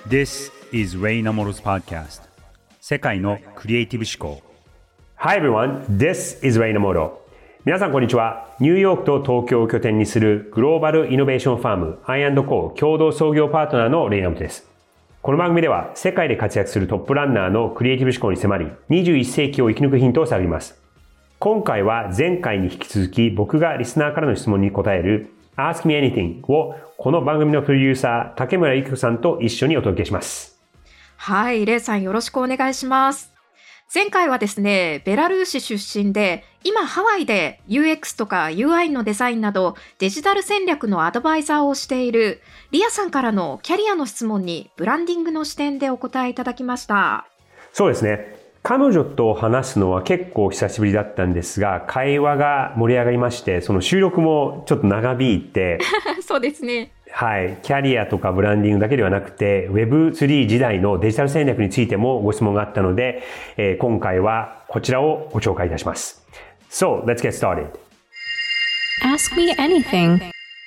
This is Ray Namoro's podcast. 世界のクリエイティブ思考。 Hi everyone, this is Ray Namoro. 皆さんこんにちは。ニューヨークと東京を拠点にするグローバルイノベーションファーム I&Co 共同創業パートナーのレイナモトです。この番組では世界で活躍するトップランナーのクリエイティブ思考に迫り、21世紀を生き抜くヒントを探ります。今回は前回に引き続き僕がリスナーからの質問に答える Ask Me Anything をこの番組のプロデューサー竹村ゆき子さんと一緒にお届けします。 はい、レイさんよろしくお願いします。前回はですね、ベラルーシ出身で、今ハワイで UX とか UI のデザインなどデジタル戦略のアドバイザーをしているリアさんからのキャリアの質問にブランディングの視点でお答えいただきました。 そうですね。彼女と話すのは結構久しぶりだったんですが、会話が盛り上がりまして、その収録もちょっと長引いてそうですね。 はい。キャリアとかブランディングだけではなくて、Web3 時代のデジタル戦略についてもご質問があったので、今回はこちらをご紹介いたします。So, let's get started. Ask me anything.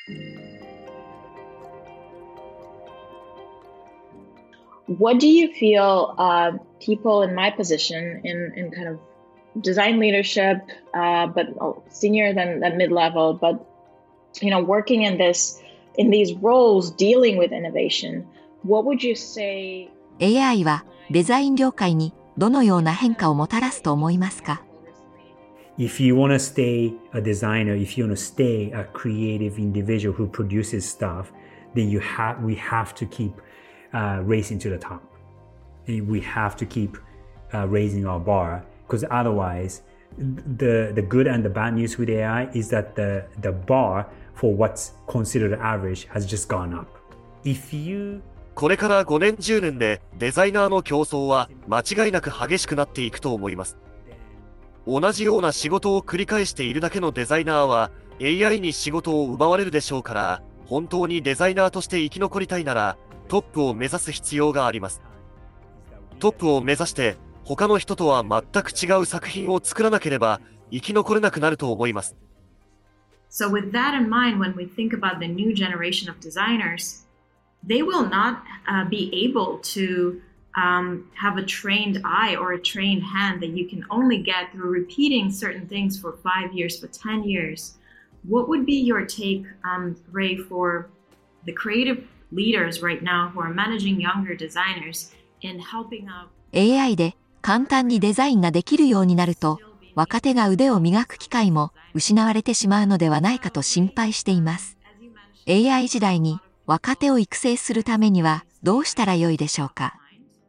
What do you feel people in my position in kind of design leadership, but senior than mid-level, but working in these roles dealing with innovation, what would you say? AI はデザイン業界にどのような変化をもたらすと思いますか？ If you want to stay a designer, if you want to stay a creative individual who produces stuff, then we have to keep racing to the top. And we have to keep raising our bar, because otherwise the good and the bad news with AI is that the bar for what's considered average has just gone up. If you これから5年10年でデザイナーの競争は間違いなく激しくなっていくと思います。同じような仕事を繰り返しているだけのデザイナーは AI に仕事を奪われるでしょうから、本当にデザイナーとして生き残りたいならトップを目指す必要があります。トップを目指して他の人とは全く違う作品を作らなければ生き残れなくなると思います。 So with that in mind, when we think about the new generation of designers, they will not be able to have a trained eye or a trained hand that you can only get through repeating certain things for 5 years, for 10 years. What would be your take, Ray, for the creative leaders right now who are managing younger designers in helping out? AI で簡単にデザインができるようになると、若手が腕を磨く機会も失われてしまうのではないかと心配しています。AI 時代に若手を育成するためにはどうしたらよいでしょうか？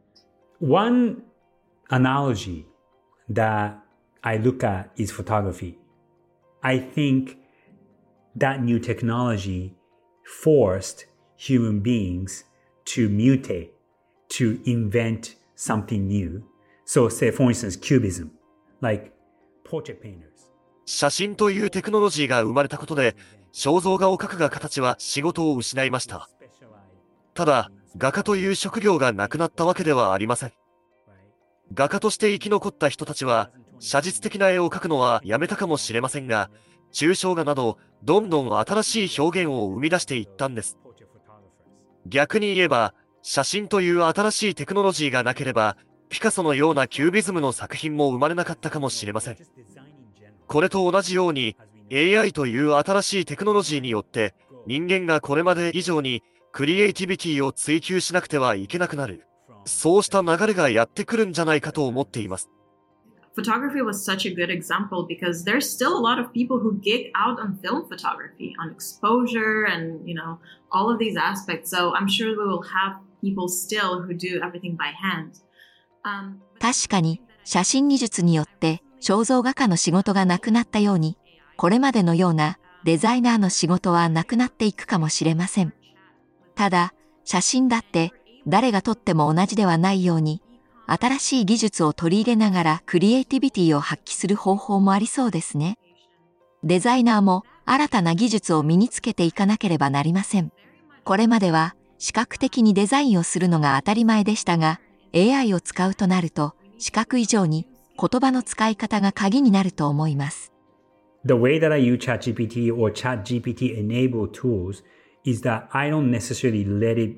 One analogy that I look at is photography. I think that new technology forced human beings to mutate, to invent something new. So say for instance, cubism, like portrait painters. 写真というテクノロジーが生まれたことで、肖像画を描くが形は仕事を失いました。ただ、画家という職業がなくなったわけではありません。画家として生き残った人たちは、写実的な絵を描くのはやめたかもしれませんが、抽象画など、どんどん新しい表現を生み出していったんです。逆に言えば、写真という新しいテクノロジーがなければ、ピカソのようなキュービズムの作品も生まれなかったかもしれません。これと同じように、AI という新しいテクノロジーによって、人間がこれまで以上にクリエイティビティを追求しなくてはいけなくなる。そうした流れがやってくるんじゃないかと思っています。 Photography was such a good example because there's still a lot of people who geek out on film photography, on exposure and, all of these aspects. So I'm sure we will have people still who do everything by hand. 確かに写真技術によって肖像画家の仕事がなくなったように、これまでのようなデザイナーの仕事はなくなっていくかもしれません。ただ、写真だって誰が撮っても同じではないように、新しい技術を取り入れながらクリエイティビティを発揮する方法もありそうですね。デザイナーも新たな技術を身につけていかなければなりません。これまでは視覚的にデザインをするのが当たり前でしたが、AI を使うとなると視覚以上に言葉の使い方が鍵になると思います。 The way that I use ChatGPT or ChatGPT enabled tools is that I don't necessarily let it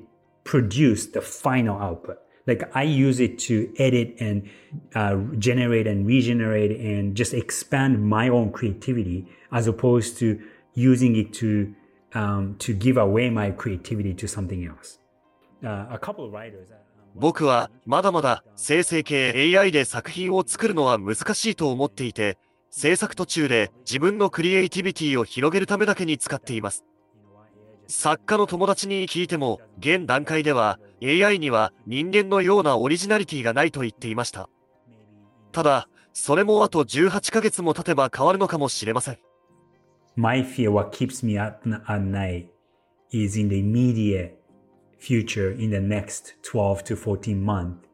produce the final output. Like I use it to edit and generate and regenerate and just expand my own creativity as opposed to using it to give away my creativity to something else. A couple of writers. 僕はまだまだ生成系 AI で作品を作るのは難しいと思っていて、制作途中で自分のクリエイティビティを広げるためだけに使っています。作家の友達に聞いても、現段階では AI には人間のようなオリジナリティがないと言っていました。ただ、それもあと18ヶ月も経てば変わるのかもしれません。 My fear, what keeps me up at night is in the immediate future, in the next 12 to 14 months,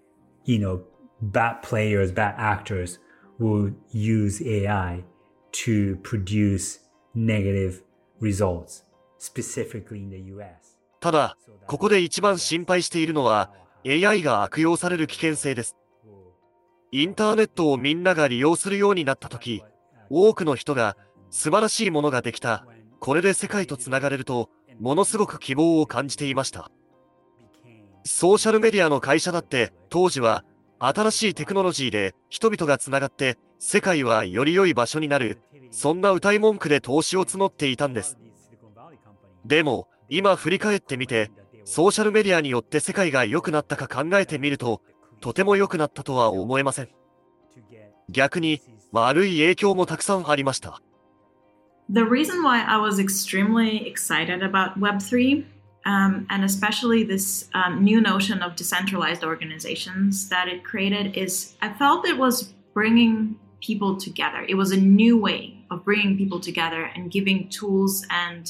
bad players, bad actors will use AI to produce negative results, specifically in the US. ただ、ここで一番心配しているのは AI が悪用される危険性です。インターネットをみんなが利用するようになったとき、多くの人が素晴らしいものができた、これで世界とつながれると、ものすごく希望を感じていました。ソーシャルメディアの会社だって当時は新しいテクノロジーで人々がつながって世界はより良い場所になる、そんな謳い文句で投資を募っていたんです。でも今振り返ってみて、ソーシャルメディアによって世界が良くなったか考えてみると、とても良くなったとは思えません。逆に悪い影響もたくさんありました。 The reason why I was extremely excited about Web3, and especially this new notion of decentralized organizations that it created, is I felt it was bringing people together. It was a new way of bringing people together and giving tools and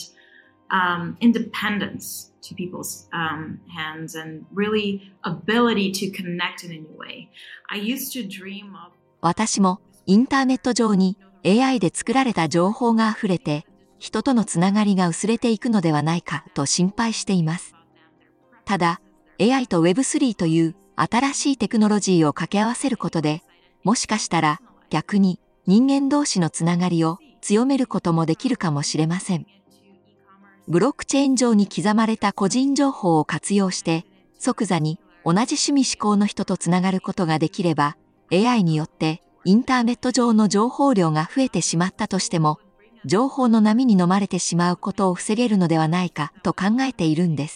independence to people's hands and really ability to connect in a new way. I used to dream of... 私もインターネット上にAI で作られた情報があふれて、人とのつながりが薄れていくのではないかと心配しています。ただ、AI と Web3 という新しいテクノロジーを掛け合わせることで、もしかしたら逆に人間同士のつながりを強めることもできるかもしれません。ブロックチェーン上に刻まれた個人情報を活用して、即座に同じ趣味思考の人とつながることができれば、AI によってインターネット上の情報量が増えてしまったとしても、情報の波に飲まれてしまうことを防げるのではないかと考えているんです。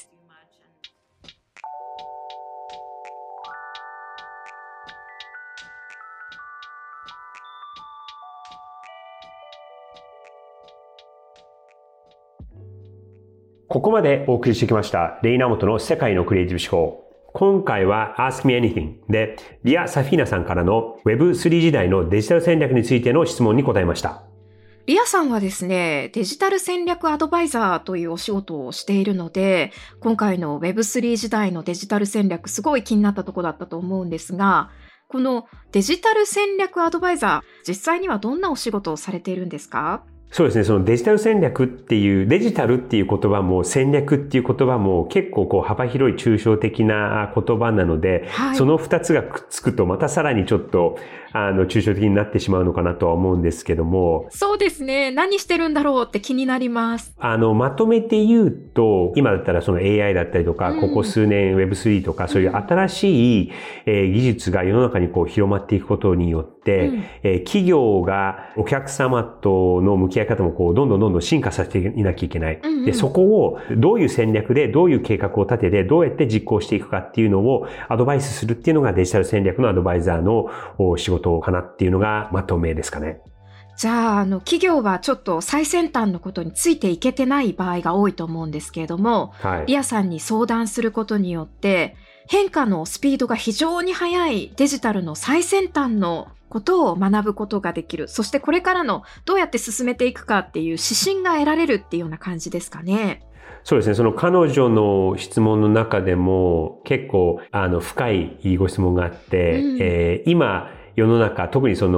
ここまでお送りしてきましたレイナモトの世界のクリエイティブ思考。今回は Ask Me Anything でリア・サフィーナさんからの Web3 時代のデジタル戦略についての質問に答えました。 リアさんはですね、デジタル戦略アドバイザーというお仕事をしているので、今回の Web3 時代のデジタル戦略すごい気になったところだったと思うんですが、このデジタル戦略アドバイザー、実際にはどんなお仕事をされているんですか？ そうですね。そのデジタル戦略っていう、デジタルっていう言葉も戦略っていう言葉も結構幅広い抽象的な言葉なので、はい、その二つがくっつくとまたさらにちょっと抽象的になってしまうのかなとは思うんですけども。 そうですね。何してるんだろうって気になります。 まとめて言うと、今だったらその AI だったりとか、ここ数年 Web3 とかそういう新しい技術が世の中に広まっていくことによって、企業がお客様との向き合い方もどんどん進化させていなきゃいけない。で、そこをどういう戦略でどういう計画を立ててどうやって実行していくかっていうのをアドバイスするっていうのがデジタル戦略のアドバイザーの仕事かなっていうのがまとめですかね。 じゃあ、企業はちょっと最先端のことについていけてない場合が多いと思うんですけれども、はい、リアさんに相談することによって変化のスピードが非常に速いデジタルの最先端のことを学ぶことができる。そしてこれからのどうやって進めていくかっていう指針が得られるっていうような感じですかね。 そうですね。その彼女の質問の中でも結構深いご質問があって、今世の中、特にその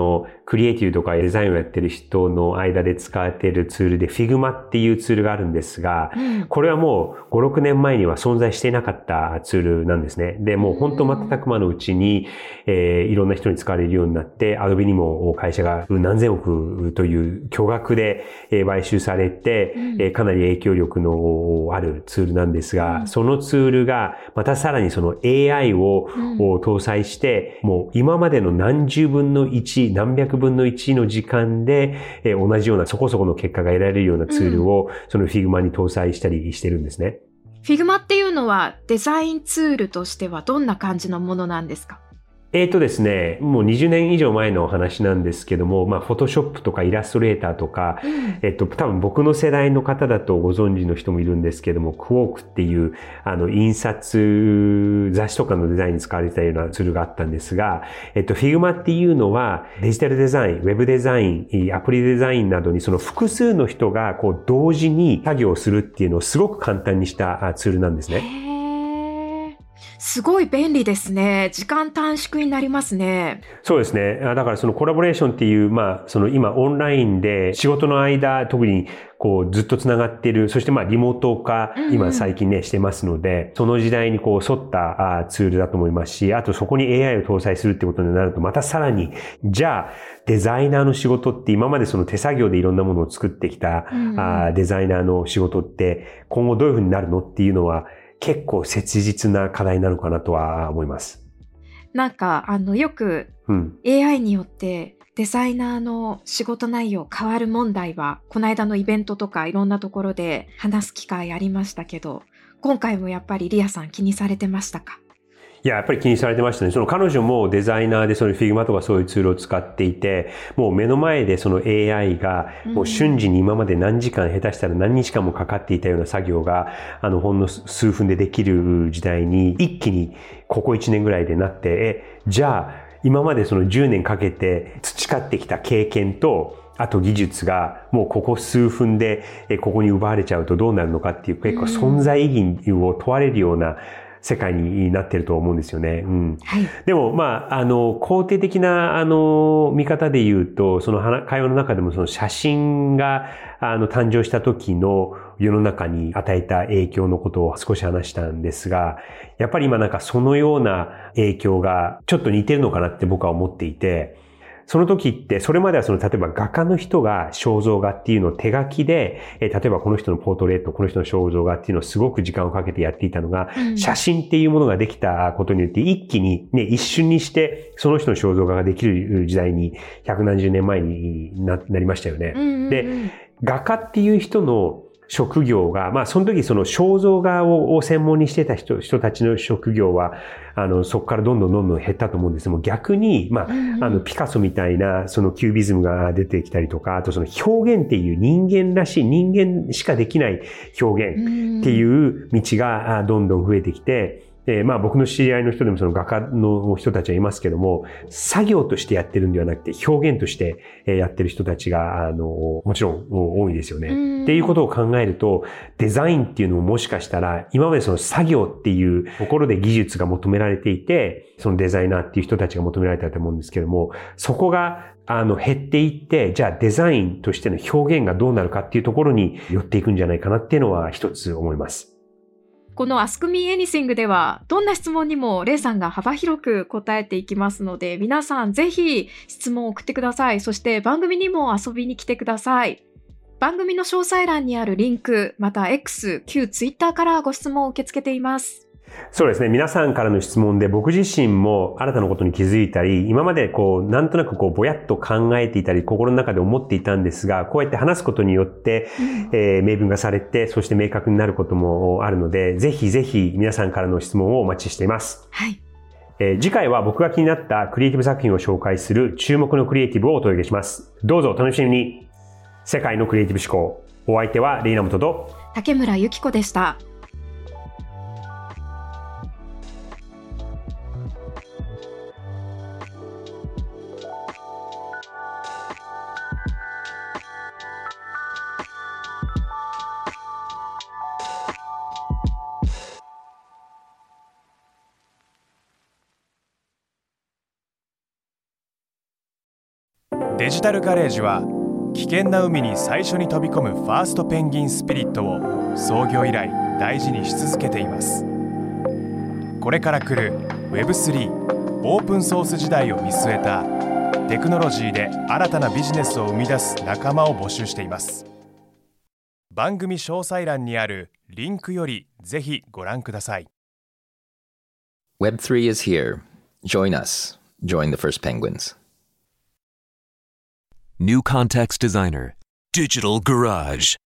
クリエイティブとかデザインをやってる人の間で使われているツールで Figma っていうツールがあるんですが、これはもう5、6年前には存在していなかったツールなんですね。で、もう本当瞬く間のうちに、いろんな人に使われるようになって、Adobe にも会社が何千億という巨額で買収されて、かなり影響力のあるツールなんですが、そのツールがまたさらにその AI を搭載して、もう今までの何十分の1、何百分の1の時間で、同じようなそこそこの結果が得られるようなツールをその Figma に搭載したりしてるんですね。 Figma っていうのはデザインツールとしてはどんな感じのものなんですか？ ですね、もう20年以上前のお話なんですけども、フォトショップとかイラストレーターとか、多分僕の世代の方だとご存知の人もいるんですけども、クォークっていう、印刷、雑誌とかのデザインに使われてたようなツールがあったんですが、Figma っていうのはデジタルデザイン、ウェブデザイン、アプリデザインなどにその複数の人がこう同時に作業するっていうのをすごく簡単にしたツールなんですね。 すごい便利ですね。時間短縮になりますね。 そうですね。だからそのコラボレーションっていう、その今オンラインで仕事の間、特にこうずっとつながっている、そしてリモート化、今最近ね、してますので、その時代にこう沿ったツールだと思いますし、あとそこに AI を搭載するってことになると、またさらに、じゃあデザイナーの仕事って今までその手作業でいろんなものを作ってきた、デザイナーの仕事って今後どういうふうになるのっていうのは、結構切実な課題なのかなとは思います。 なんかよく AI によってデザイナーの仕事内容変わる問題はこの間のイベントとかいろんなところで話す機会ありましたけど、今回もやっぱりリアさん気にされてましたか？ いや、やっぱり気にされてましたね。その彼女もデザイナーでその Figma とかそういうツールを使っていて、もう目の前でその AI がもう瞬時に今まで何時間下手したら何日間もかかっていたような作業がほんの数分でできる時代に一気にここ1年ぐらいでなって、じゃあ今までその10年かけて培ってきた経験とあと技術がもうここ数分でここに奪われちゃうとどうなるのかっていう結構存在意義を問われるような世界になってると思うんですよね。はい、でも、肯定的な、見方で言うと、その会話の中でもその写真が、誕生した時の世の中に与えた影響のことを少し話したんですが、やっぱり今なんかそのような影響がちょっと似てるのかなって僕は思っていて、その時って、それまでは例えば画家の人が肖像画っていうのを手書きで、例えばこの人のポートレート、この人の肖像画っていうのをすごく時間をかけてやっていたのが、写真っていうものができたことによって一気にね、一瞬にしてその人の肖像画ができる時代に百何十年前になりましたよね。で、画家っていう人の職業が、その時その肖像画を専門にしてた人たちの職業は、そこからどんどん減ったと思うんですも逆に、ピカソみたいな、そのキュービズムが出てきたりとか、あとその表現っていう人間らしい、人間しかできない表現っていう道がどんどん増えてきて、僕の知り合いの人でもその画家の人たちはいますけども、作業としてやってるんではなくて表現としてやってる人たちが、もちろん多いですよね。っていうことを考えると、デザインっていうのももしかしたら、今までその作業っていうところで技術が求められていて、そのデザイナーっていう人たちが求められたと思うんですけども、そこが減っていって、じゃあデザインとしての表現がどうなるかっていうところに寄っていくんじゃないかなっていうのは一つ思います。 この Ask Me Anything ではどんな質問にもレイさんが幅広く答えていきますので、皆さんぜひ質問を送ってください。そして番組にも遊びに来てください。番組の詳細欄にあるリンク、また X、旧 Twitter からご質問を受け付けています。 そうですね。皆さんからの質問で僕自身も新たなことに気づいたり、今までなんとなくぼやっと考えていたり、心の中で思っていたんですが、こうやって話すことによって、明文化されて、そして明確になることもあるので、ぜひぜひ皆さんからの質問をお待ちしています。 はい。 次回は僕が気になったクリエイティブ作品を紹介する注目のクリエイティブをお届けします。どうぞお楽しみに。世界のクリエイティブ思考。お相手はレイナモトと竹村由紀子でした。 デデジタルガレージは危険な海に最初に飛び込むファーストペンギンスピリットを創業以来大事にし続けています。これから来る Web3 オープンソース時代を見据えたテクノロジーで新たなビジネスを生み出す仲間を募集しています。番組詳細欄にあるリンクよりぜひご覧ください。 Web3 is here. Join us. Join the first penguins. New Context Designer. Digital Garage.